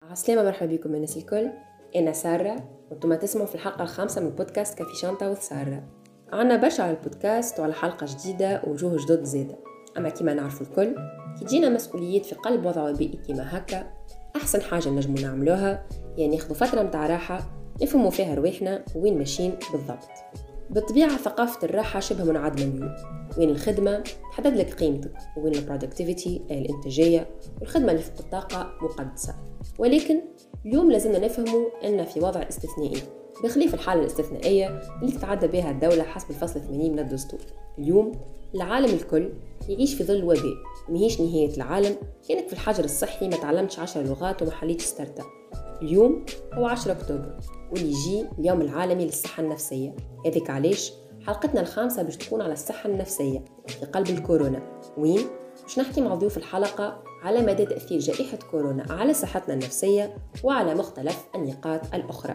عسلامة، مرحبا بكم الناس الكل. أنا سارة وانتم تسمعوا في الحلقة الخامسة من بودكاست كافي شانتا وسارة. عنا برشا على البودكاست وعلى حلقة جديدة ووجوه جدد زادة. أما كما نعرفوا الكل كي تجينا مسؤوليات في قلب وضع وبيئي كما هكا، أحسن حاجة نجموا نعملوها يعني ناخذوا فترة متاع راحة نفهموا فيها رواحنا وين ماشيين بالضبط. بالطبيعة ثقافة الراحة شبه منعدمة اليوم، وين الخدمة تحدد لك قيمتك، وين البرودكتيفيتي الإنتاجية والخدمة اللي في الطاقة مقدسة. ولكن اليوم لازمنا نفهموا أن في وضع استثنائي بخلاف الحالة الاستثنائية اللي تتعدى بها الدولة حسب الفصل 80 من الدستور. اليوم العالم الكل يعيش في ظل وباء، مهيش نهاية العالم. كانك في الحجر الصحي ما تعلمتش 10 لغات وما حليتش ستارت اب. اليوم هو 10 أكتوبر واللي يجي اليوم العالمي للصحة النفسية. هذيك علاش حلقتنا الخامسة باش تكون على الصحة النفسية في قلب الكورونا، وين باش نحكي مع ضيوف الحلقة على مدى تأثير جائحة كورونا على صحتنا النفسية وعلى مختلف النقاط الأخرى.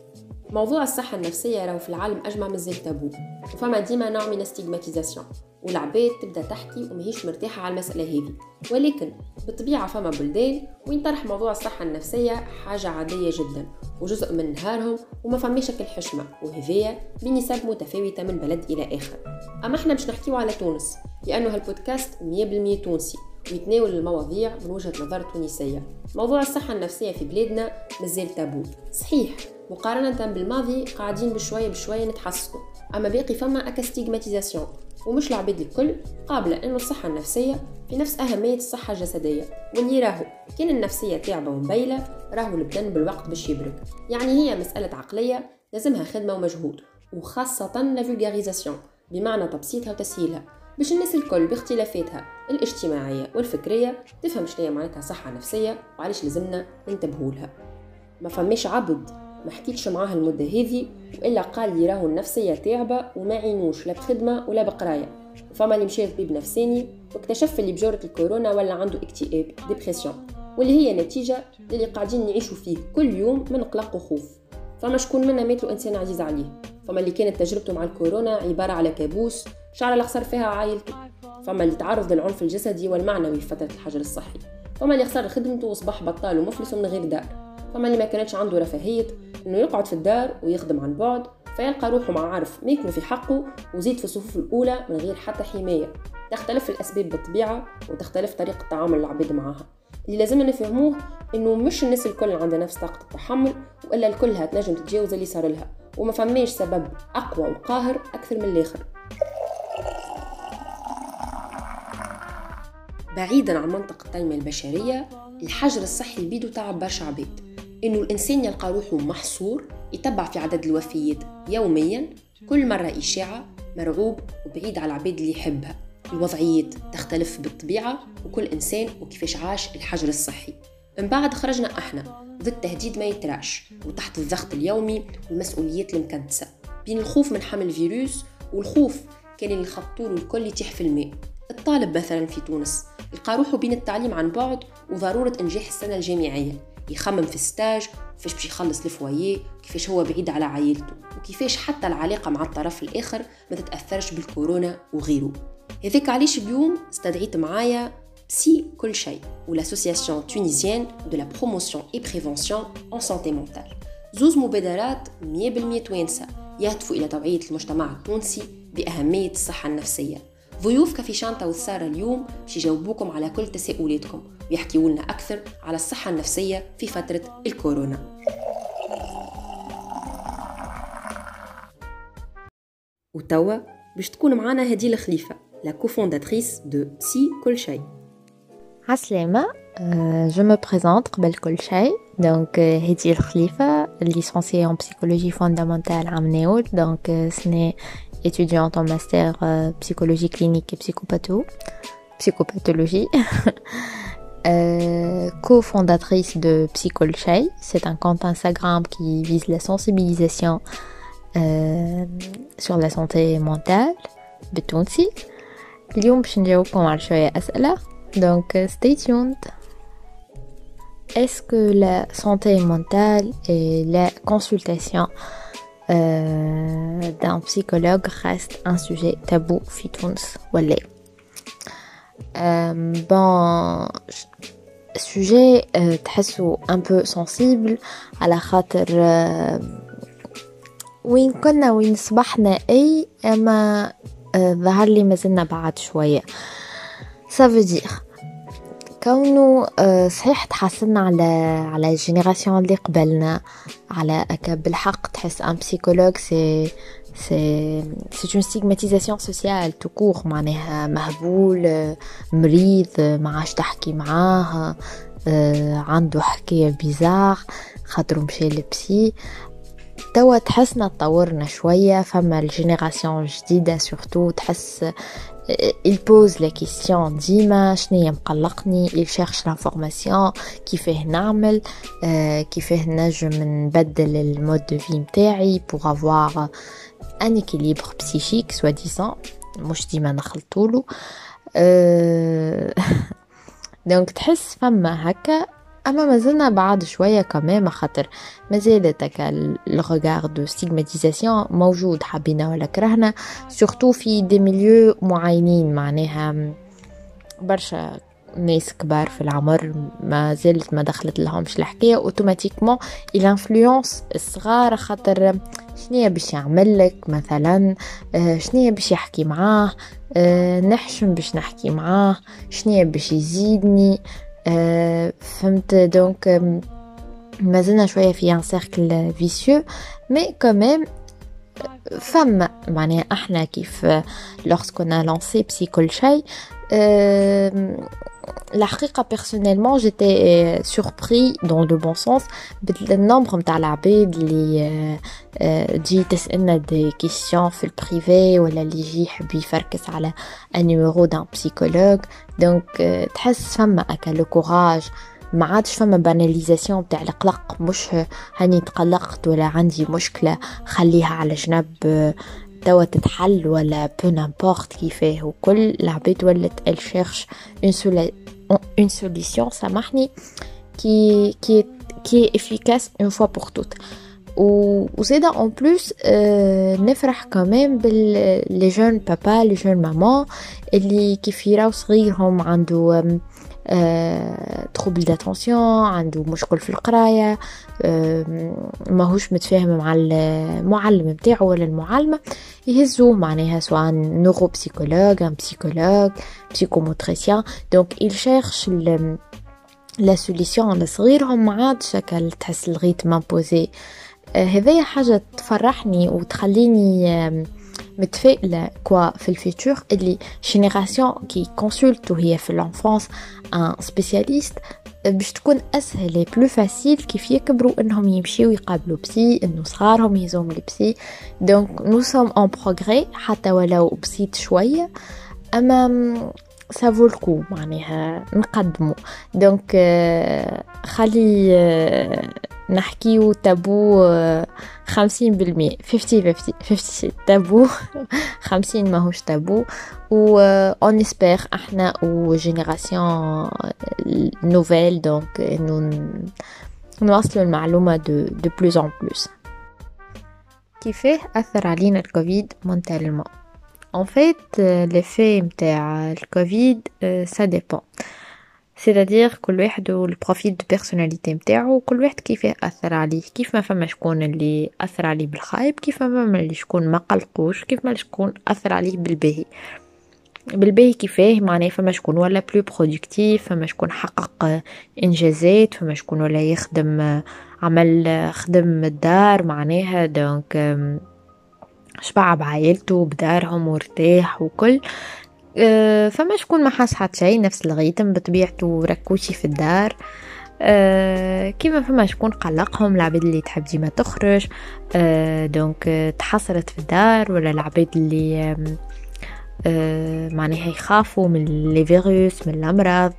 موضوع الصحة النفسية راهو في العالم أجمع مازال تابو، وفما ديما نوع من استيغماتيزاسيون، والعباد تبدا تحكي ومهيش مرتاحة على المسألة هذه. ولكن بالطبيعة فما بلدان وين طرح موضوع الصحة النفسية حاجة عادية جدا وجزء من نهارهم وما فماش شكل حشمة، وهذيا بنسب متفاوتة من بلد إلى آخر. أما احنا باش نحكيو على تونس لأنه هالبودكاست 100% تونسي ويتناول المواضيع من وجهة نظر تونسية. موضوع الصحة النفسية في بلادنا مازال تابو صحيح، مقارنة بالماضي قاعدين بشوية نتحسنوا، أما باقي فما أكاستيغماتيزاسيون ومش العباد الكل قابلة أنه الصحة النفسية في نفس أهمية الصحة الجسدية. واللي راهو كان النفسية تعبة ومبيلة راهو البدن بالوقت باش يبرك. يعني هي مسألة عقلية لازمها خدمة ومجهود، وخاصة لافولغاريزاسيون بمعنى تبسيطها وتسهيلها باش الناس الكل باختلافاتها الاجتماعية والفكرية تفهم شنو معناتها صحة نفسية وعلاش لازمنا ننتبهولها. ما فماش عبد ما حكيتش معاه المدة هذه وإلا قال لي راهو النفسية تعبة وما عينوش لا بخدمة ولا بقراية. وفما اللي مشي لطبيب نفساني واكتشف اللي بجورة الكورونا ولا عنده اكتئاب ديبريسيون، واللي هي نتيجة اللي قاعدين نعيشوا فيه كل يوم من قلق وخوف. فما شكون منا ماتلو إنسان عزيز عليه، فما اللي كانت تجربته مع الكورونا عبارة على كابوس شعر الأخسر فيها عائلته، فما اللي تعرض للعنف الجسدي والمعنوي في فترة الحجر الصحي، فما اللي خسر خدمته وصبح بطال ومفلس من غير دار، فما اللي ما كانتش عنده رفاهية انه يقعد في الدار ويخدم عن بعد فيلقى روحه مع عارف ما يكون في حقه وزيد في الصفوف الأولى من غير حتى حماية. تختلف الأسباب بالطبيعة وتختلف طريقة تعامل العباد معها. اللي لازمنا نفهموه انه مش الناس الكل عندها نفس طاقة التحمل، وإلا الكلها تنجم تتجاوز اللي صار لها، وما فماش سبب أقوى وقاهر أكثر من الآخر. بعيدا عن منطقة التنمية البشرية، الحجر الصحي بيدو تعب برشا عباد، إنه الإنسان يلقى روحه محصور يتبع في عدد الوفيات يوميا، كل مرة إشاعة، مرعوب وبعيد على العباد اللي يحبها. الوضعيات تختلف بالطبيعة وكل إنسان وكيفاش عاش الحجر الصحي. من بعد خرجنا إحنا ضد تهديد ما يتراش وتحت الضغط اليومي والمسؤوليات المكدسة، بين الخوف من حمل الفيروس والخوف كان اللي خطوله الكل يتيح في الماء. الطالب مثلا في تونس يلقى روحه بين التعليم عن بعد وضرورة إنجاح السنة الجامعية، يخمم في الستاج كيفاش باش يخلص الفواييه، كيفاش هو بعيد على عائلته، وكيفاش حتى العلاقة مع الطرف الآخر ما تتأثرش بالكورونا وغيره. هذاك علاش اليوم استدعيت معايا بسي كل شيء والأسوسياسيون تونيزيان دو لا بروموسيون اي بريفونسيون ان سانتي مونتال، زوز مبادرات 100% توانسة يهدفوا إلى توعية المجتمع التونسي بأهمية الصحة النفسية. ضيوف كافي شانتا وسارة اليوم باش يجاوبوكم على كل تساؤلاتكم ويحكيوا لنا أكثر على الصحة النفسية في فترة الكورونا. وتوا باش تكون معنا هديل خليفة، لا كوفونداتريس دو بسي كل شيء. عسلامة. Je me présente قبل كل شيء. Donc هديل خليفة, licenciée en psychologie fondamentale à Amnéoul. Donc ce n'est étudiante en master psychologie clinique et psychopathologie. Co-fondatrice de Psycolchey. C'est un compte Instagram qui vise la sensibilisation sur la santé mentale بالتونسي. اليوم باش نجاوبكم على شوية أسئلة. Donc stay tuned. Est-ce que la santé mentale et la consultation d'un psychologue reste un sujet tabou في تونس ولا؟ Bon, سوجي تحسوا ان بو سنسيبل على خاطر وين كنا وين صبحنا اي اما ظهر لي مازلنا بعد شويه. سافو كونه صحيح تحسنا على الجينيراسيون اللي قبلنا على بالحق تحس ان بسيكولوج c'est une stigmatisation sociale tout court معناها مهبول مريض ما عادش تحكي معاه عنده حكايه بيزار خاطر مشى للبسي. توا تحسنا تطورنا شويه فما الجينيراسيون جديده سورتو تحس il pose la question ديما شنيا مقلقني il cherche l'information كيفاه نعمل كيفاه نجم نبدل المود دو في متاعي pour avoir un équilibre psychique soi-disant مش ديما نخلطولو. دونك تحس فما هكا اما مازلنا بعد شويه كمان خاطر مازالت هكا الريغار دو ستيغماتيزاسيون موجود حبينا ولا كرهنا سورتو في دي ميليو معينين معناها برشا ناس كبار في العمر ما زالت ما دخلت لهمش الحكايه اوتوماتيكمون الانفلونس الصغار خاطر شنيا باش يعمل لك مثلا شنيا باش يحكي معاه نحشم باش نحكي معاه شنيا باش يزيدني فهمت. دونك مازلنا شويه في ان سيركل فيسيو مي كوميم فما معناها احنا كيف lorsqu'on a lancé Psy كل شيء الحقيقة personnellement j'étais surpris dans le bon sens بالنمبر متاع العباد اللي تجي تسألنا دي كيسيون في البريفي ولا اللي يجي يحب يفركس على un numéro d'un psychologue. دونك تحس فما اكا لو كوراج ما عادش فما باناليزاسيون تاع القلق مش هاني تقلقت ولا عندي مشكلة خليها على جنب توا تتحل ولا peu n'importe كيفاه وكل العباد ولت elle cherche une solution سامحني qui est efficace une fois pour toutes. وزيدا en plus نفرح كمان باللي جون بابا لي جون ماما اللي كيف يراو صغيرهم عنده تروبل داتونسيون عنده مشكل في القرايه ماهوش متفاهم مع المعلم نتاعو ولا المعلمه يهزوه معناها سواء نورو بسيكولوج ان بسيكولوج بسيكوموتريسيان. دونك il cherche لا سوليسيون لصغيرهم ما عادش هكا تحس لغيت مامبوزي. هذه حاجه تفرحني وتخليني متفائله كوا في الفيتور اللي جينيراسيون كي كونسولت وهي في الانفانس ان سبيسياليست باش تكون اسهل اي بلو فاسيل كيف يكبروا انهم يمشيو يقابلوا بسي انه صغارهم يزوم لبسي. دونك نو سوم ان بروغري حتى ولو بسيط شويه اما سافو الكو معناها نقدموا. دونك خلي نحكيو تابو 50% 50 تابو 50 ماهوش تابو و on espère احنا و جينيراسيون نوفيل دونك انه نوصلوا المعلومه de plus en plus. كيفاه اثر علينا الكوفيد مونتالمون؟ En fait, l'effet متاع الكوفيد ça dépend. C'est-à-dire كل واحد والبروفيل دو بيرسوناليتي متاعو كل واحد كيف أثر عليه. كيف ما فما شكون اللي أثر عليه بالخايب كيف ما فما اللي شكون ما قلقوش كيف ما شكون أثر عليه بالباهي كيفاه معناه فما شكون ولا بلو برودكتيف فما شكون حقق إنجازات فما شكون ولا يخدم عمل خدم الدار معناها دونك شبع بعائلته بدارهم وارتاح وكل فما شكون ما حاس حتى شيء نفس الغيتم بطبيعته ركوشي في الدار كيما فما شكون قلقهم العباد اللي تحب ديما تخرج دونك تحصرت في الدار ولا العباد اللي معناها يخافوا من لي فيروس من الامراض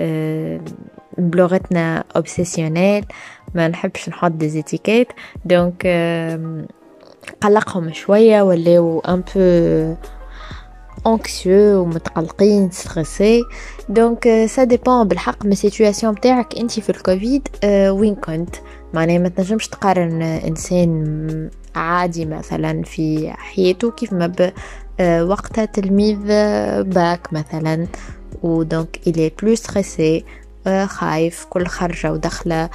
بلغتنا اوبسيسيونيل ما نحبش نحط دي زيتيكيت دونك قلقهم شويه ولاو ان بو anxieux ومتقلقين ستريسي. دونك ça dépend بالحق من السيتوياسيون بتاعك انتي في الكوفيد وين كنت معناها ما تنجمش تقارن انسان عادي مثلا في حياته كيف ما وقتها تلميذ باك مثلا ودونك il est plus stressé خايف كل خرجة ودخلة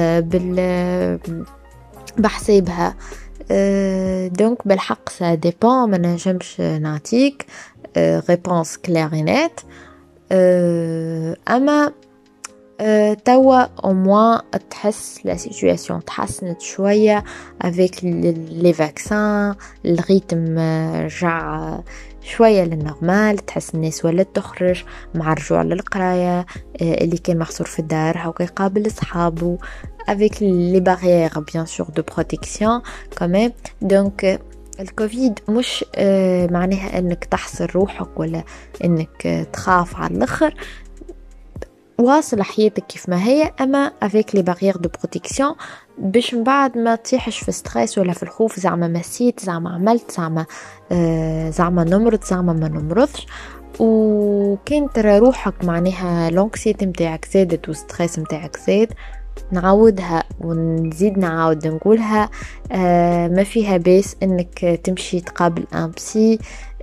بحسابها. دونك بالحق سا ديبون، ما نجمش نعطيك ريبونس كلارينات. اما توا au moins تحس la situation تحسنت شوية avec les vaccins، الريتم رجع شوية للنورمال، تحس الناس ولات تخرج مع الرجوع للقراية، اللي كان محصور في الدار هاو يقابل أصحابه avec les barrières bien sûr de protection quand même. donc الكوفيد مش معناها انك تحصر روحك ولا انك تخاف على الاخر، واصل حياتك كيف ما هي، اما avec les barrières de protection باش من بعد ما تطيحش في ستريس ولا في الخوف، زعما مسيت، زعما عملت، زعما نمرض، زعما ما نمرضش. وكان ترى روحك معناها لونكسيتي متاعك زادت وستريس متاعك زاد، نعودها ونزيد نعاود نقولها، ما فيها بس انك تمشي تقابل ان بسي،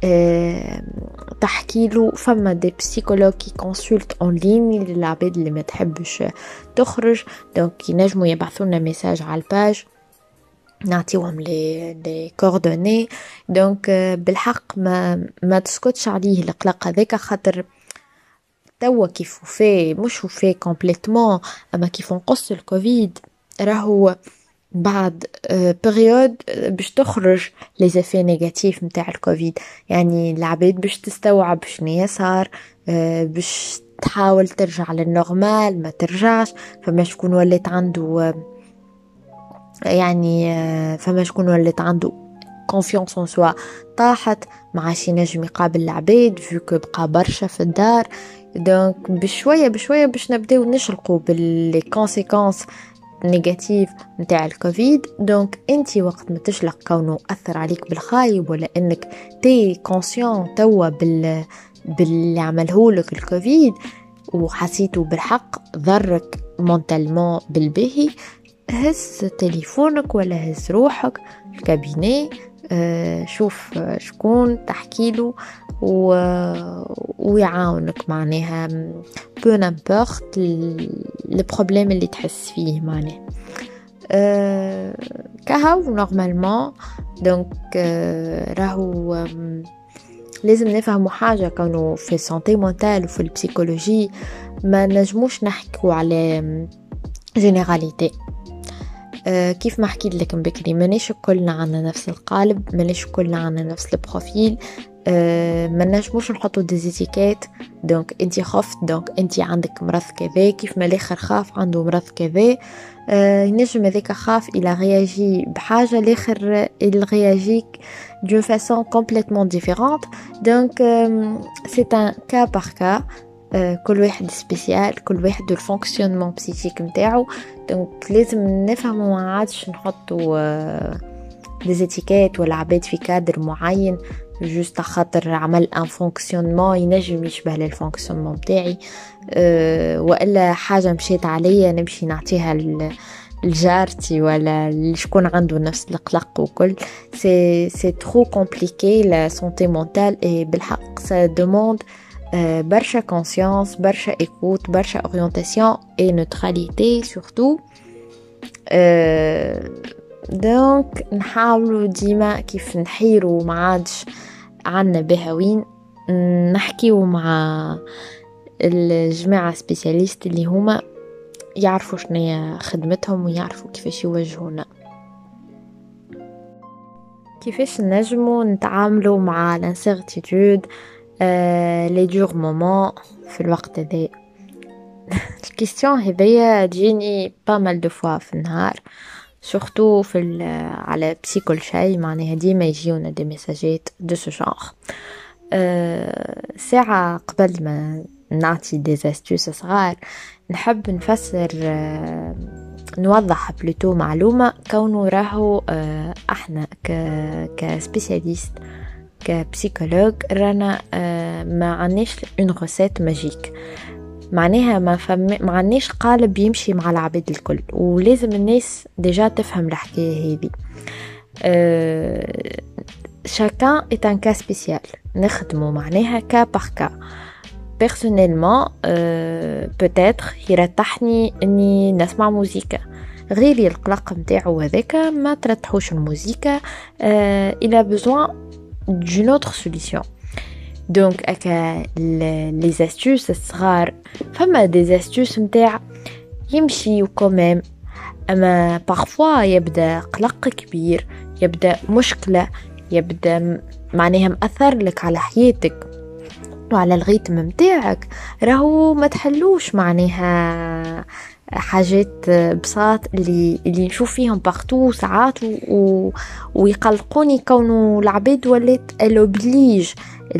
تحكي له. فما دي بسيكولوج كي كونسولت اون لين للعباد اللي ما تحبش تخرج، دونك ينجموا يبعثوا لنا ميساج على الباج نعطيوهم لي كوردوني. دونك بالحق ما تسكتش عليه القلق هذاك، خاطر توا كيف وفي مش وفي كومبليتمون، اما كيف نقص الكوفيد راهو بعد بريود باش تخرج لي زيفي نيجاتيف نتاع الكوفيد. يعني العباد باش تستوعب شنو صار، باش تحاول ترجع للنورمال ما ترجعش. فما شكون ولات عنده يعني فما شكون ولات عنده كونفيونس اون سوا طاحت، ما عادش ينجم يقابل العباد فيو بقى برشا في الدار. دونك بشويه بشويه باش نبداو نشرقوا باللي كونسيكونس نيجاتيف نتاع الكوفيد. دونك انتي وقت ما تشلق كونه اثر عليك بالخايب، ولا انك تي كونسيون توا باللي عملهولك الكوفيد وحسيته بالحق ضرك مونتالمون بالبهي، هز تليفونك ولا هز روحك الكابيني، شوف شكون تحكيله ويعاونك معناها بو نامبورت البروبليم اللي تحس فيه معناها كهو نورمالمون. دونك راهو لازم نفهموا حاجة، كانوا في السانتي مونتال وفي البسيكولوجي ما نجموش نحكوا على جينيراليتي. كيف ما حكيت لكم بكري، مانيش كلنا عنا نفس القالب، مانيش كلنا عنا نفس البروفيل، ما نجموش نحطوا ديزيتيكات. دونك انتي خفت دونك انتي عندك مرض كذا، كيف ما الاخر خاف عنده مرض كذا، ينجم هذاك خاف الى رياجي بحاجه، الاخر الرياجيك دون فاسون كومبليتمون ديفيرونت. دونك سي ان كا بار كا، كل واحد سبيسيال، كل واحد الفونكسيونمون بسيكيك نتاعو. دونك لازم نفهموا، ما عادش نحطوا ديزيتيكات ولا عباد في كادر معين جوست خاطر عمل ان فونكسيونمون ينجم يشبه للفونكسيونمون بتاعي، والا حاجه مشيت عليا نمشي نعطيها الجارتي ولا شكون عنده نفس القلق وكل. سي ترو كومبليكي لا سونتي مونتال، اي بالحق سا دوموند برشا كونسيونس، برشا ايكوت، برشا اورينتاسيون اي نوتراليتي سورتو. دونك نحاولوا ديما كيف نحيروا ما عادش عنا بهوين، نحكيوا مع الجماعة سبيسياليست اللي هما يعرفوا شنو خدمتهم ويعرفوا كيفاش يوجهونا، كيفاش نجموا نتعاملوا مع الانسيرتيتود لي دور مومون في الوقت هذا. الكيستيون هذيا تجيني با مال دو فوا في النهار، سورتو في على بسيكول شاي، معناها ديما يجيونا دي ميساجات دو سو جونغ. ساعة قبل ما نعطي دي استوس صغار نحب نفسر، نوضح بلوتو معلومة، كونه راهو احنا كسبيسياليست كبسيكولوج رانا ما عناش اون روسيت ماجيك، معناها ما عناش قالب يمشي مع العباد الكل، ولازم الناس ديجا تفهم الحكاية هذه. شاكان est un cas spécial، نخدمه معناها كا بار كا. personnellement peut-être يرتحني اني نسمع موسيقى. غيري القلق متاعو هذاك ما ترتحوش الموسيقى. il a besoin d'une autre solution. Donc aka les astuces الصغار فما des astuces متاع يمشي quand même. اما parfois يبدا قلق كبير، يبدا مشكلة، يبدا معناها مأثر لك على حياتك وعلى الريتم متاعك، راهو ما تحلوش معناها حاجات بساط اللي نشوف فيهم بارتو ساعات ويقلقوني كونه العباد ولات الوبليج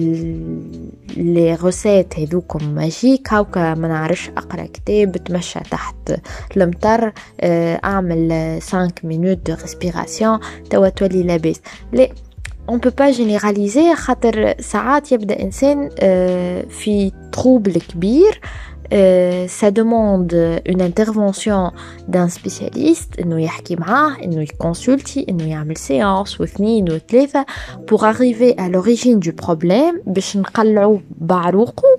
لي غوسيت هذوكم ماجيك هاوكا ما نعرفش اقرا كتاب، تمشى تحت المطر، اعمل 5 minutes de respiration توا تولي لاباس. لا on peut pas généraliser خاطر ساعات يبدا انسان في trouble كبير. Ça demande une intervention d'un spécialiste, إنه يحكي معاه، إنه يكونسولتي، إنه يعمل séance واثنين وثلاثة pour arriver à l'origine du problème باش نقلعوه بعروقه.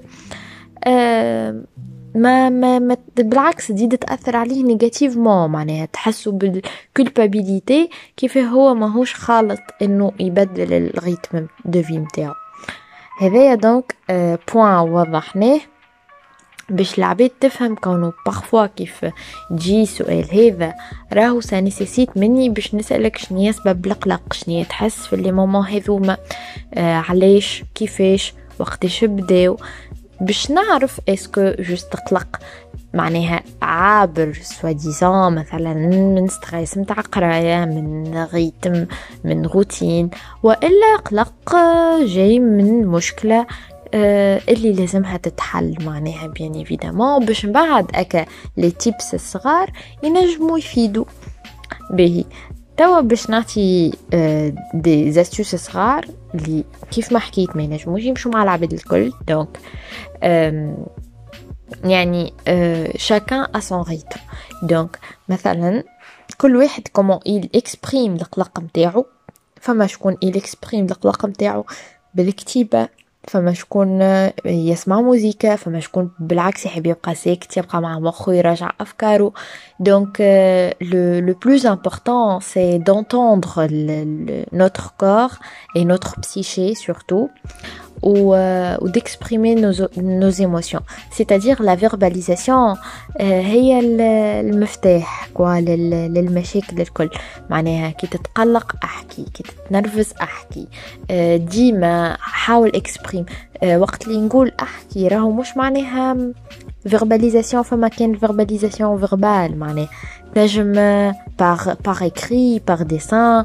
ما بالعكس تزيد تأثر عليه نيجاتيفمون، معناها تحسوا بالكولبابيليتي كيف هو ماهوش خالط إنه يبدل الريتم دو في متاعو. هذايا دونك بوين وضحناه باش العباد تفهم كونه بارفوا كيف تجي سؤال هذا راهو سا نيسيسيت مني باش نسألك شنو سبب القلق، شنو تحس في لي مومون هذوما، علاش، كيفاش، وقتاش بداو، باش نعرف اسكو جوست قلق معناها عابر سوا ديزان مثلا من ستريس متاع قرايه، من ريتم، من روتين، والا قلق جاي من مشكله اللي لازمها تتحل معناها بيان ايفيدامون باش بعد اكا لي تيبس الصغار ينجموا يفيدوا به. توا باش نعطي دي زاستوس صغار اللي كيف ما حكيت ما ينجموش يمشوا مع العباد الكل. دونك يعني chacun a son rythme. دونك مثلا كل واحد كومون il exprime القلق متاعو. فما شكون il exprime القلق متاعو بالكتيبة، فما شكون يسمع موسيقى، فما شكون بالعكس يحب يبقى ساكت يبقى مع مخه يراجع أفكاره. Donc le plus important c'est d'entendre notre corps et notre psyché surtout ou d'exprimer nos émotions. C'est-à-dire la verbalisation هي المفتاح للمشاكل الكل. معناها كي تتقلق أحكي، كي تتنرفز أحكي، ديما حاول إكسبريم. وقت اللي نقول أحكي راهو مش معناها verbalisation فما كان verbalisation verbal، معناها نجم par écrit par dessin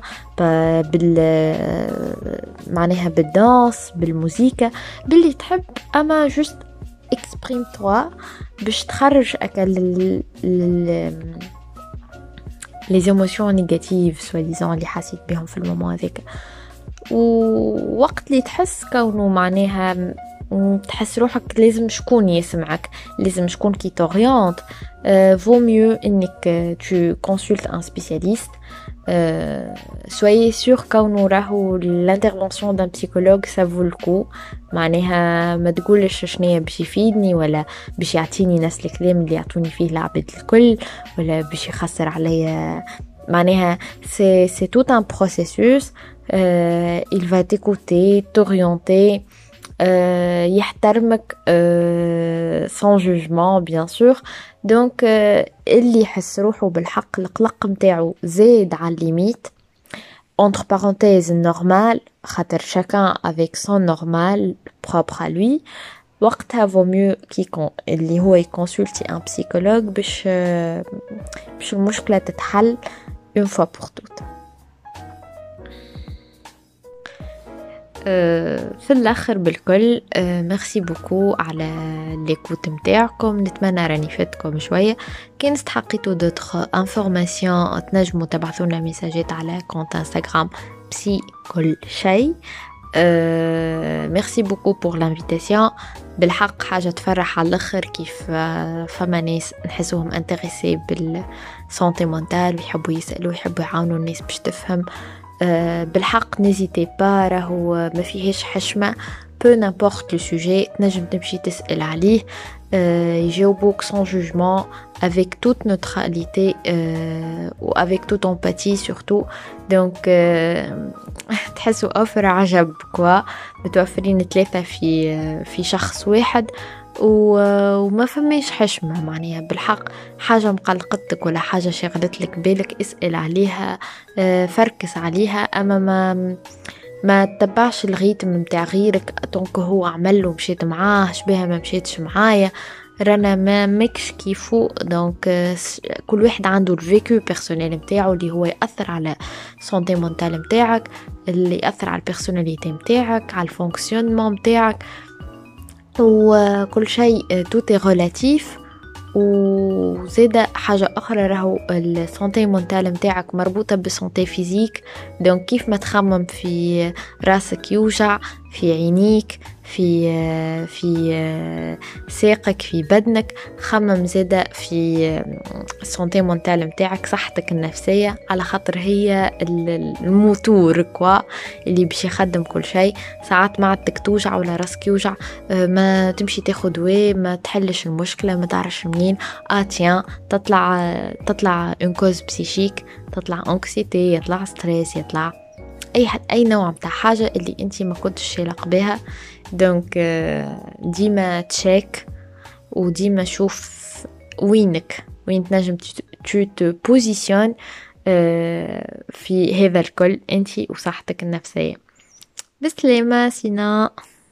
معناها بالدانس بالموسيقى باللي تحب، اما just exprime toi باش تخرج les émotions négatives soi-disant اللي حسيت بهم في المومون هذاك. ووقت اللي تحس كونه معناها تحس روحك لازم شكون يسمعك، لازم شكون كي تورينت، vaut mieux انك tu consultes un spécialiste. soyez sûr كونه راهو l'intervention d'un psychologue ça vaut le coup. معناها ما تقولش شنو باش يفيدني ولا باش يعطيني نفس الكلام اللي يعطوني فيه العباد الكل ولا باش يخسر عليا. معناها c'est tout un processus. Il va t'écouter, t'orienter, يحترمك sans jugement bien sûr. donc اللي يحس روحه بالحق القلق متاعو زاد على الليميت entre parenthèses normal خاطر chacun avec son normal propre à lui، وقتها vaut mieux اللي هو يكونسولتي un psychologue باش المشكلة تتحل une fois pour toutes. في الاخر بالكل ميرسي بوكو على ليكوت متاعكم. نتمنى راني فاتكم شويه. كان استحقيتوا دوتر انفورماسيون تنجموا تبعثونا ميساجات على كونت انستغرام بسي كل شيء. ميرسي بوكو بور لانفيتاسيون. بالحق حاجه تفرح على الاخر كيف فما ناس نحسوهم انتريسي بالسانتي مونتال ويحبوا يسالوا ويحبوا يعاونوا الناس باش تفهم. بالحق نيزيتي با، راهو ما فيهش حشمه. peu n'importe le sujet تنجم تمشي تسأل عليه يجاوبوك sans jugement avec toute neutralité ou avec toute empathie surtout donc تحسوا أوفر عجب كوا متوفرين 3 في شخص واحد وما فماش حشمة معناها بالحق حاجة مقلقتك ولا حاجة شغلت لك بالك اسأل عليها فركس عليها أما ما تتبعش الريتم متاع غيرك دونك هو عمل ومشيت معاه شبيها ما مشيتش معايا رانا ما ماكش كيفو دونك كل واحد عنده الفيكو بيرسونيل نتاعو اللي هو يأثر على سونتي مونتال نتاعك اللي يأثر على البيرسوناليتي نتاعك على الفونكسيونمون نتاعك وكل شيء توتي ريلاتيف وزيدا حاجة أخرى راهو السونتي مونتال نتاعك مربوطة بالسونتي فيزيك دونك كيف ما تخمم في راسك يوجع في عينيك في ساقك في بدنك خمم زيدا في السونتي مونتال نتاعك صحتك النفسية على خاطر هي الموتور كوا اللي باش يخدم كل شيء ساعات معدتك توجع ولا راسك يوجع ما تمشي تاخد دواء ما تحلش المشكلة ما تعرفش منين تيان تطلع اون كوز بسيشيك تطلع انكسيتي يطلع ستريس يطلع اي نوع متاع حاجه اللي انت ما كنتش شايلق بها دونك ديما تشيك وديما شوف وين تنجم تو بوزيشن في هذا الكل انت وصحتك النفسيه بسلامه سينا.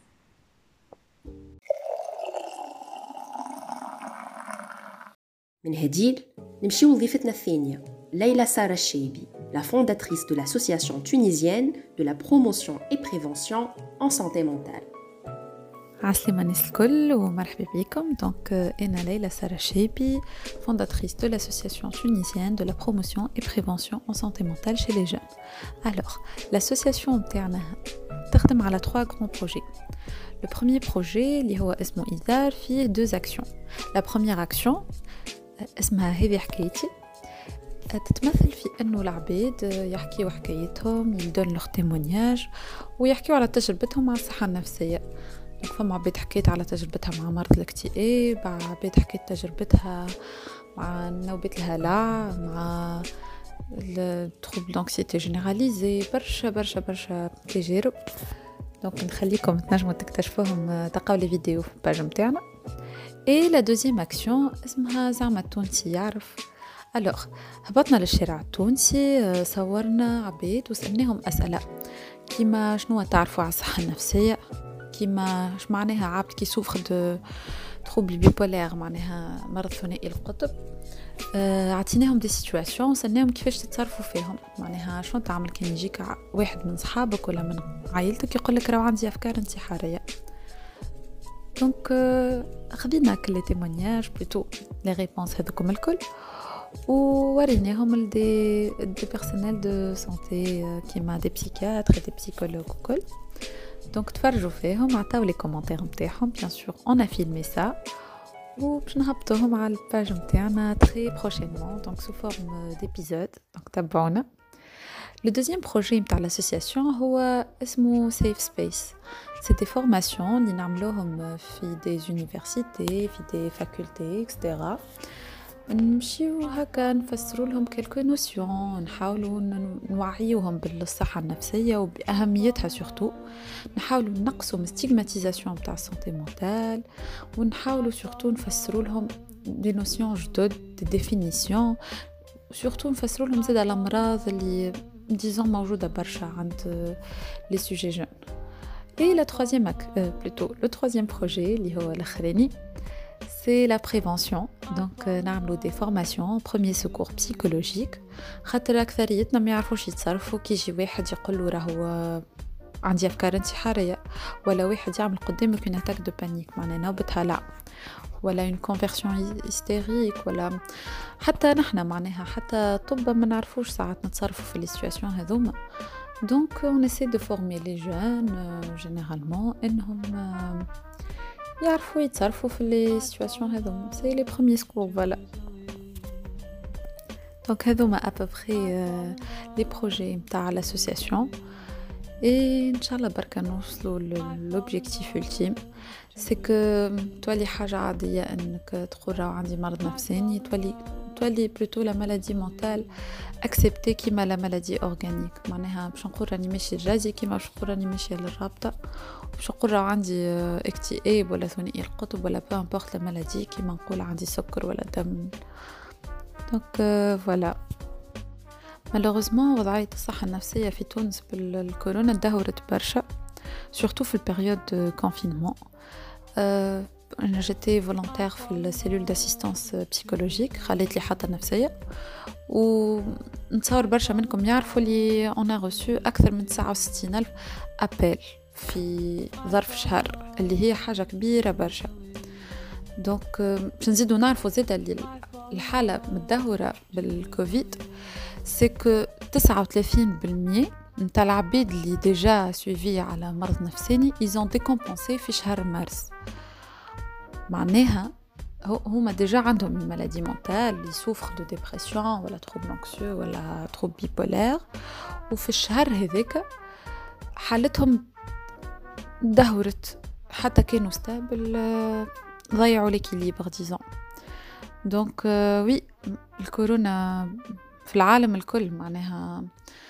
من هديل نمشيو وظيفتنا الثانيه Leïla Sarah Cheibi, la fondatrice de l'association tunisienne de la promotion et prévention en santé mentale. عسلامة الناس الكل ومرحبا بكم. Donc أنا ليلى سارة شيبي, fondatrice de l'association tunisienne de la promotion et prévention en santé mentale chez les jeunes. Alors, l'association تاعنا تخدم على 3 grands projets. Le premier projet اللي هو اسمه إيثار فيه 2 actions. La première action اسمها هذه حكايتي, تتمثل في أنه العباد يحكيوا حكايتهم, يدون لغ تيمونياج ويحكيوا على تجربتهم مع الصحة النفسية. فما عباد حكيت على تجربتها مع مرض الاكتئاب, عباد حكيت تجربتها مع نوبة الهلع, مع التروبل دانكسيتي جينيراليزي, برشا تجارب. دونك نخليكم تنجموا تكتشفوهم تلقاو لي فيديو في الباج نتاعنا. اي لا دوزيام اكسيون اسمها زعما التونسي يعرف. الوغ هبطنا للشارع التونسي, صورنا عباد وسألناهم أسئلة كيما شنو تعرفوا على الصحة النفسية, كيما اش معناها عبد كي سوفر دو تروبل بيبولير معناها مرض ثنائي القطب. عطيناهم دي سيتواسيون وسألناهم كيفاش تتصرفوا فيهم, معناها شنو تعمل كان يجيك واحد من صحابك ولا من عائلتك يقول لك راهو عندي أفكار انتحارية. دونك خذينا كل لي تيمونياج بلوتو لي ريبونس هذوكم الكل ووريناهم دي بيرسونيل دو سانتي كيما دي بسيكياتر دي بسيكولوج وكل. دونك تفرجوا فيهم, عطاو لي كومونتير نتاعهم بيان سور اون ا فيلمي سا وباش نهبطوهم على الباج نتاعنا تري بروشينمون دونك سو فورم ديبيزود. دونك تابعونا. لو دوزيام بروجي نتاع لاسوسياسيون هو اسمه سيف سبيس. سي دي فورماسيون اللي نعملوهم في دي يونيفرسيتي في دي فاكولتي اكسترا. نمشيو هكا نفسروا لهم كلكو نوسيون, نحاولوا نوعيوهم بالصحة النفسية وبأهميتها سورتو, نحاولوا نقصوا من ستيغماتيزاسيون تاع السانتي مونتال, ونحاولوا سورتو نفسروا لهم دي نوسيون جدد دي ديفينيسيون, سورتو نفسروا لهم زاد الأمراض اللي ديزون موجودة برشا عند لي سوجي جون. Et la troisième, plutôt le troisième projet, اللي هو الأخراني, c'est la prévention. Donc نعملوا des formations premier secours psychologique. خاطر أكثريتنا ما يعرفوش يتصرفوا كي يجي واحد يقول له راهو عندي أفكار انتحارية, ولا واحد يعمل قدامك une attaque de panique معناها نوبة هلع, ولا une conversion hystérique, ولا حتى نحنا معناها حتى طب ما نعرفوش ساعات نتصرفوا في السيتواسيون هذوما. Donc on essaie de former les jeunes généralement انهم يعرفوا يتصرفوا في لي سيتواسيون هذوما. سي لي بروميير سكور فوالا. دونك هذوما ابوبخي لي بروجي نتاع لاسوسياسيون. اي ان شاء الله بركة نوصلوا للوبجيكتيف ultime سي كو تولي حاجة عادية انك تقول راهو عندي مرض نفساني، تولي بلوتو لا مالادي مونتال اكسبتي كيما لا مالادي اورغانيك. معناها باش نقول راني ماشي للرازي كيما باش نقول راني ماشيه للرابطه، باش نقول راه عندي اكتئاب ولا ثنائي القطب ولا بو امبورط لا مالادي، كيما نقول عندي سكر ولا دم. دونك فوالا. مالوغوزمون وضعية الصحة النفسية في تونس بالكورونا تدهورت برشا، سورتو في البيريود كونفينمون. أنا جيتي فولونتير في السيلول داسيستانس بسيكولوجيك، خليت لي حتى نفسية، ونتصور برشا منكم يعرفوا لي أنا غوسو أكثر من 69,000 أبل في ظرف شهر، اللي هي حاجة كبيرة برشا. دونك باش نزيدو نعرفوا زيدا اللي الحالة متدهورة بالكوفيد سي كو 39% نتاع العباد اللي ديجا سويفي على مرض نفساني ils ont décompensé في شهر مارس. معناها هما ديجا عندهم مالادي مونتال اللي سوفر دو ديبرسيون ولا تروبل انكسيو ولا تروبل بيبولار، وفي الشهر هذاك حالتهم دهورت حتى كانوا ستابل، ضيعوا ليكيليبر ديزون. دونك وي الكورونا في العالم الكل معناها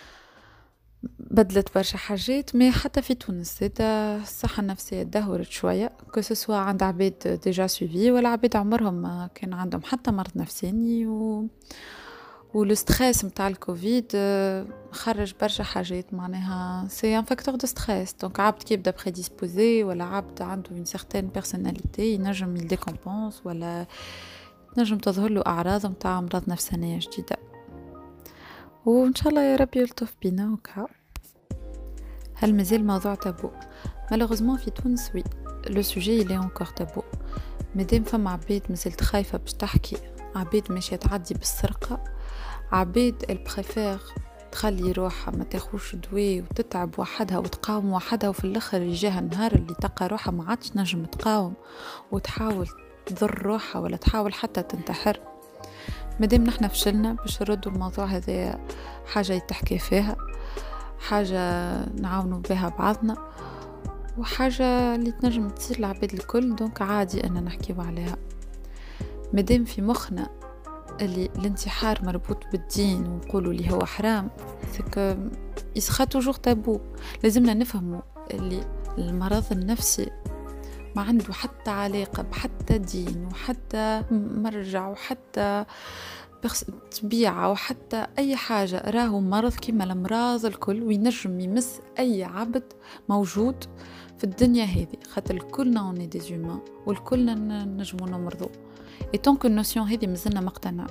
بدلت برشا حاجات، ما حتى في تونس زادا الصحة النفسية دهورت شوية، كسوا عند عباد ديجا سويفي ولا عباد عمرهم ما كان عندهم حتى مرض نفساني، والستريس متاع الكوفيد خرج برشا حاجات. معناها سي ان فاكتور دو ستريس، دونك عبد كي يبدا بريديسبوزي ولا عبد عنده اون سيغتين بيرسوناليتي ينجم يديكومبونس ولا نجم تظهر له أعراض متاع أمراض نفسانية جديدة، وإن شاء الله يا ربي يلطف بينا وكا. هل مازال موضوع تابو؟ مالوغوزمون في تونس وي لو سوجي إلي أنكور تابو، مادام فما عباد مازالت خايفة باش تحكي، عباد ماشية تعدي بالسرقة، عباد البريفير تخلي روحها ما تاخوش دواء وتتعب وحدها وتقاوم وحدها، وفي الاخر يجيها النهار اللي تلقى روحها ما عادش نجم تقاوم وتحاول تضر روحها ولا تحاول حتى تنتحر. مادام نحنا فشلنا باش نردوا الموضوع هذا حاجة يتحكي فيها، حاجة نعاونوا بها بعضنا، وحاجة اللي تنجم تصير لعباد الكل، دونك عادي أن نحكيو عليها. مادام في مخنا اللي الانتحار مربوط بالدين ونقولوا اللي هو حرام، سكو يسخا توجور تابو. لازمنا نفهموا اللي المرض النفسي ما عنده حتى علاقة بحتى دين وحتى مرجع وحتى طبيعة وحتى أي حاجة، راهو مرض كيما الأمراض الكل، وينجم يمس أي عبد موجود في الدنيا هذه، خاطر كلنا اوني دي زومان والكلنا نجمو نمرضو. اي طونك النوسيون هذه مازلنا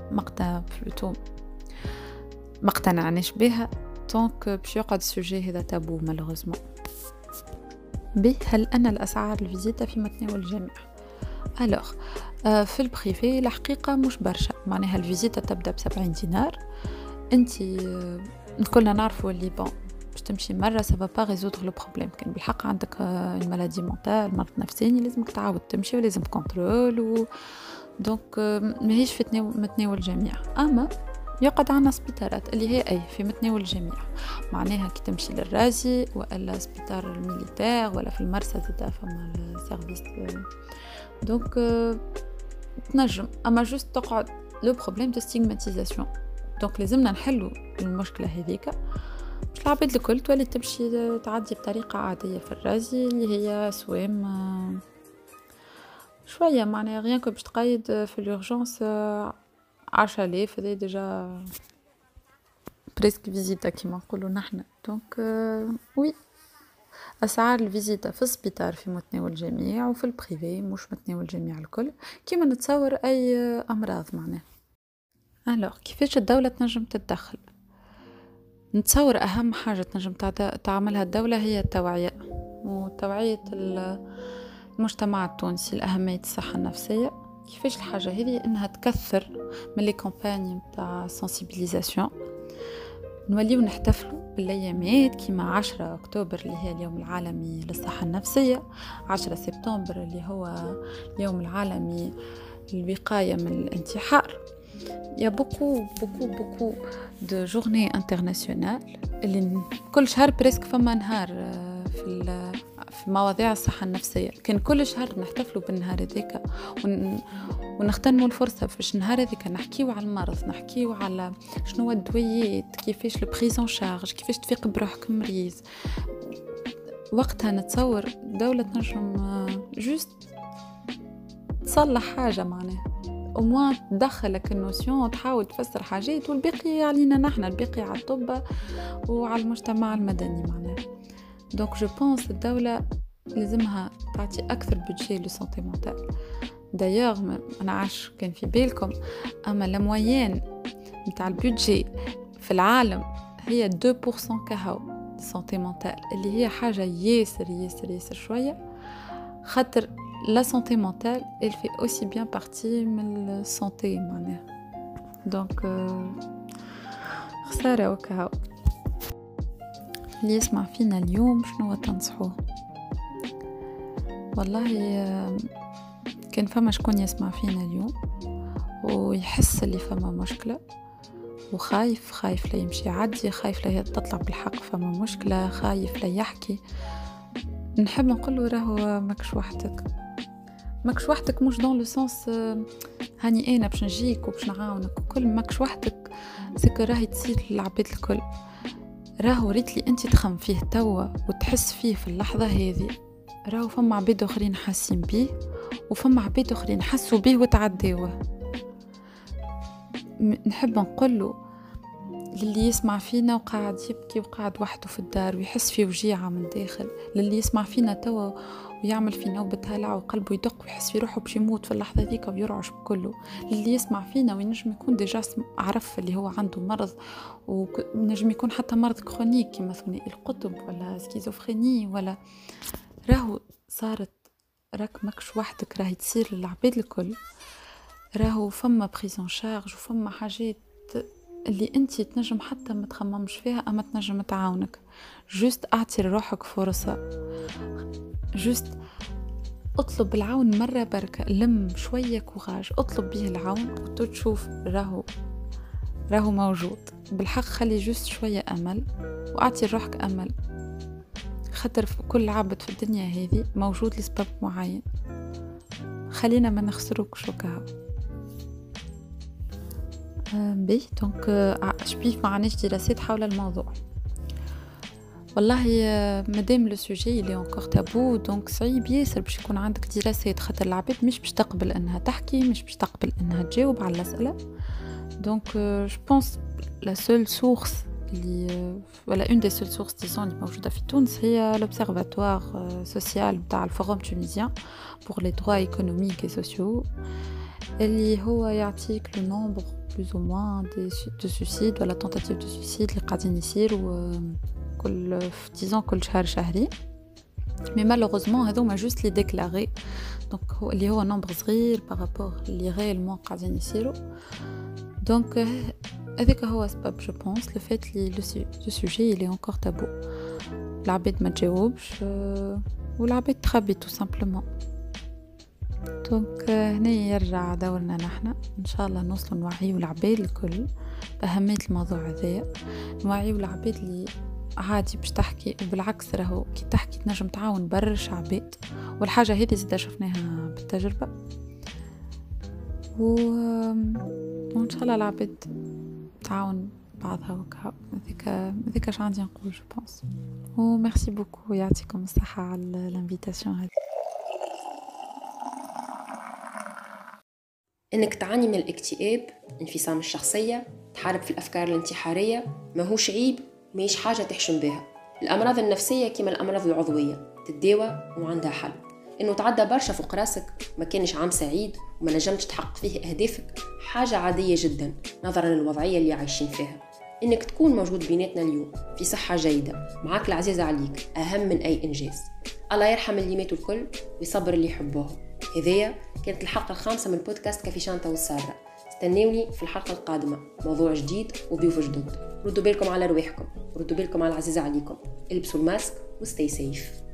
ما اقتنعناش بها، طونك باش يقعد السوجي هذا تابو مالوغوزمون. به هل أنا الأسعار الفيزيتا في متناول الجميع؟ ألوغ في البريفي الحقيقة مش برشا، معناها الفيزيتا تبدأ ب70 دينار. انتي كلنا نعرفوا اللي بون باش تمشي مرة سافا با ريزودر لو بروبليم، كان بالحق عندك المالادي مونتال مرض نفساني لازمك تعاود تمشي ولازم كونترول دونك ماهيش في متناول الجميع. أما يقعد عنا سبيطارات اللي هي أي في متناول الجميع، معناها كي تمشي للرازي ولا سبيطار الميليتير ولا في المرسى زادا فما السيرفيس، دونك تنجم. أما جوست تقعد لو بروبليم دو ستيغماتيزاسيون، دونك لازمنا نحلو المشكلة هذيك باش العباد الكل تولي تمشي تعدي بطريقة عادية في الرازي اللي هي سوام شوية، معناها غيان كو باش تقيد في الأورجانس 10,000 هذا ديجا بريسك فيزيتا كيما نقولوا نحنا. دونك وي أسعار الفيزيتا في السبيطار في متناول الجميع، وفي البريفي مش متناول الجميع الكل كيما نتصور أي أمراض. معناها ألوغ كيفاش الدولة تنجم تتدخل؟ نتصور أهم حاجة تنجم تعملها الدولة هي التوعية، وتوعية المجتمع التونسي لأهمية الصحة النفسية. كيفاش الحاجة هذه؟ إنها تكثر من لي كامباني متاع سنسيبيليزاسيون، نوليو نحتفلوا بالأيامات كيما 10 أكتوبر اللي هي اليوم العالمي للصحة النفسية، 10 سبتمبر اللي هو اليوم العالمي للوقاية من الانتحار. il y a beaucoup de journées internationales اللي كل شهر بريسك فما نهار في مواضيع الصحة النفسية. كان كل شهر نحتفلوا بالنهار هذاك ونغتنموا الفرصة فاش النهار هذاك نحكيو على المرض، نحكيو على شنو الدويات، كيفاش البريزون شارج، كيفاش تفيق بروحك مريض. وقتها نتصور دولة تنجم جوست تصلح حاجة معناها وما تدخلك النوسيون تحاول تفسر حاجات والباقي علينا نحن، الباقي على الطب وعلى المجتمع المدني معناها. دونك جو بونس الدولة لازمها تعطي أكثر بودجي للسانتي مونتال. دايوغ أنا عاش كان في بالكم أما الموين متاع البودجي في العالم هي 2% كهو سانتي مونتال، اللي هي حاجة ياسر شوية، خاطر la santé mentale elle fait aussi bien partie من السانتي معناها. دونك خسارة وكهو. اللي يسمع فينا اليوم شنو تنصحوه؟ والله كان فما شكون يسمع فينا اليوم ويحس اللي فما مشكلة وخايف لا يمشي يعدي، خايف لا تطلع بالحق فما مشكلة، خايف لا يحكي، نحب نقوله راهو ماكش وحدك مش دون لو سونس هاني انا باش نجيك وباش نعاونك وكل، ماكش وحدك سكر راهي تصير للعباد الكل. راهو ريت لي انت تخم فيه توا وتحس فيه في اللحظة هذه، راهو فما عباد اخرين حاسين بيه وفما عباد اخرين حسوا بيه وتعداوه. نحب نقوله للي يسمع فينا وقاعد يبكي وقاعد وحده في الدار ويحس فيه وجيعة من داخل، للي يسمع فينا توا ويعمل في نوبة هلع وقلبه يدق ويحس في روحه باش يموت في اللحظة ذيك ويرعش بكله، للي يسمع فينا وينجم يكون ديجا عرف اللي هو عنده مرض ونجم يكون حتى مرض كرونيك كما ثنائي القطب ولا سكيزوفريني ولا، راهو صارت راك ماكش وحدك، راهي تصير للعباد الكل. راهو فما بريزون شارج وفما حاجات اللي انتي تنجم حتى ما تخممش فيها اما تنجم تعاونك. جوست اعطي لروحك فرصة، جوست اطلب العون مرة بركة، لم شوية كوراج اطلب به العون وتشوف راهو موجود بالحق. خلي جوست شوية امل واعطي لروحك امل، خاطر كل عبد في الدنيا هذه موجود لسبب معين، خلينا ما نخسروكش وكهو. بيه دونك شبيه ما عناش دراسات حول الموضوع. والله مادام لو سوجي اللي انكور تابو دونك صعيب ياسر باش يكون عندك دراسات، خاطر العباد مش باش تقبل انها تحكي، مش باش تقبل انها تجاوب على الاسئله. دونك جو بونس لا سول سورس اللي ولا اون دي سول سورس ديزون اللي موجوده في تونس هي لوبسيرفاتوار سوسيال نتاع الفوروم تونيزيان بور لي دروا ايكونوميك اي سوسيو، اللي هو يعطيك لو نومبر plus ou moins de suicides ولا tentative de suicide اللي قاعدين يصيروا كل كل شهرين. مي مالوغوزمون هذوما جوست لي ديكلاري، دونك هو اللي هو نومبر صغير بارابور اللي ريالمون قاعدين يصيروا. دونك هذاك هو سبب جو بونس لو فات لي لو سوجي اللي انكور تابو، العباد ما تجاوبش والعباد تخبي تو سامبلومون. دونك هنا يرجع دورنا نحن ان شاء الله نوصل نوعيو العباد الكل باهميه الموضوع هذايا، نوعيو العباد اللي عادي باش تحكي، وبالعكس راهو كي تحكي تنجم تعاون برشا عباد، والحاجه هذه زيدا شفناها بالتجربه. وان شاء الله العباد تعاون بعضها وكا. هذيك اش عندي نقول جو بونس. وميرسي بوكو، يعطيكم الصحه على الانفيتاسيون هذه. انك تعاني من الاكتئاب، انفصام الشخصية، تحارب في الافكار الانتحارية، ماهوش عيب، ماهيش حاجة تحشم بها. الامراض النفسية كما الامراض العضوية تداوى وعندها حل. انه تعدى برشا فوق راسك ما كانش عام سعيد وما نجمتش تحقق فيه اهدافك حاجة عادية جدا نظرا للوضعية اللي عايشين فيها. انك تكون موجود بيناتنا اليوم في صحة جيدة معاك العزيزة عليك اهم من اي انجاز. الله يرحم اللي ماتوا الكل ويصبر اللي يحبوهم. هذيا كانت الحلقة 5 من بودكاست كافي شانتا والسارة. استنوني في الحلقة القادمة، موضوع جديد وضيوف جدد. ردوا بالكم على رواحكم، ردوا بالكم على العزيزة عليكم، البسوا الماسك وستي سيف.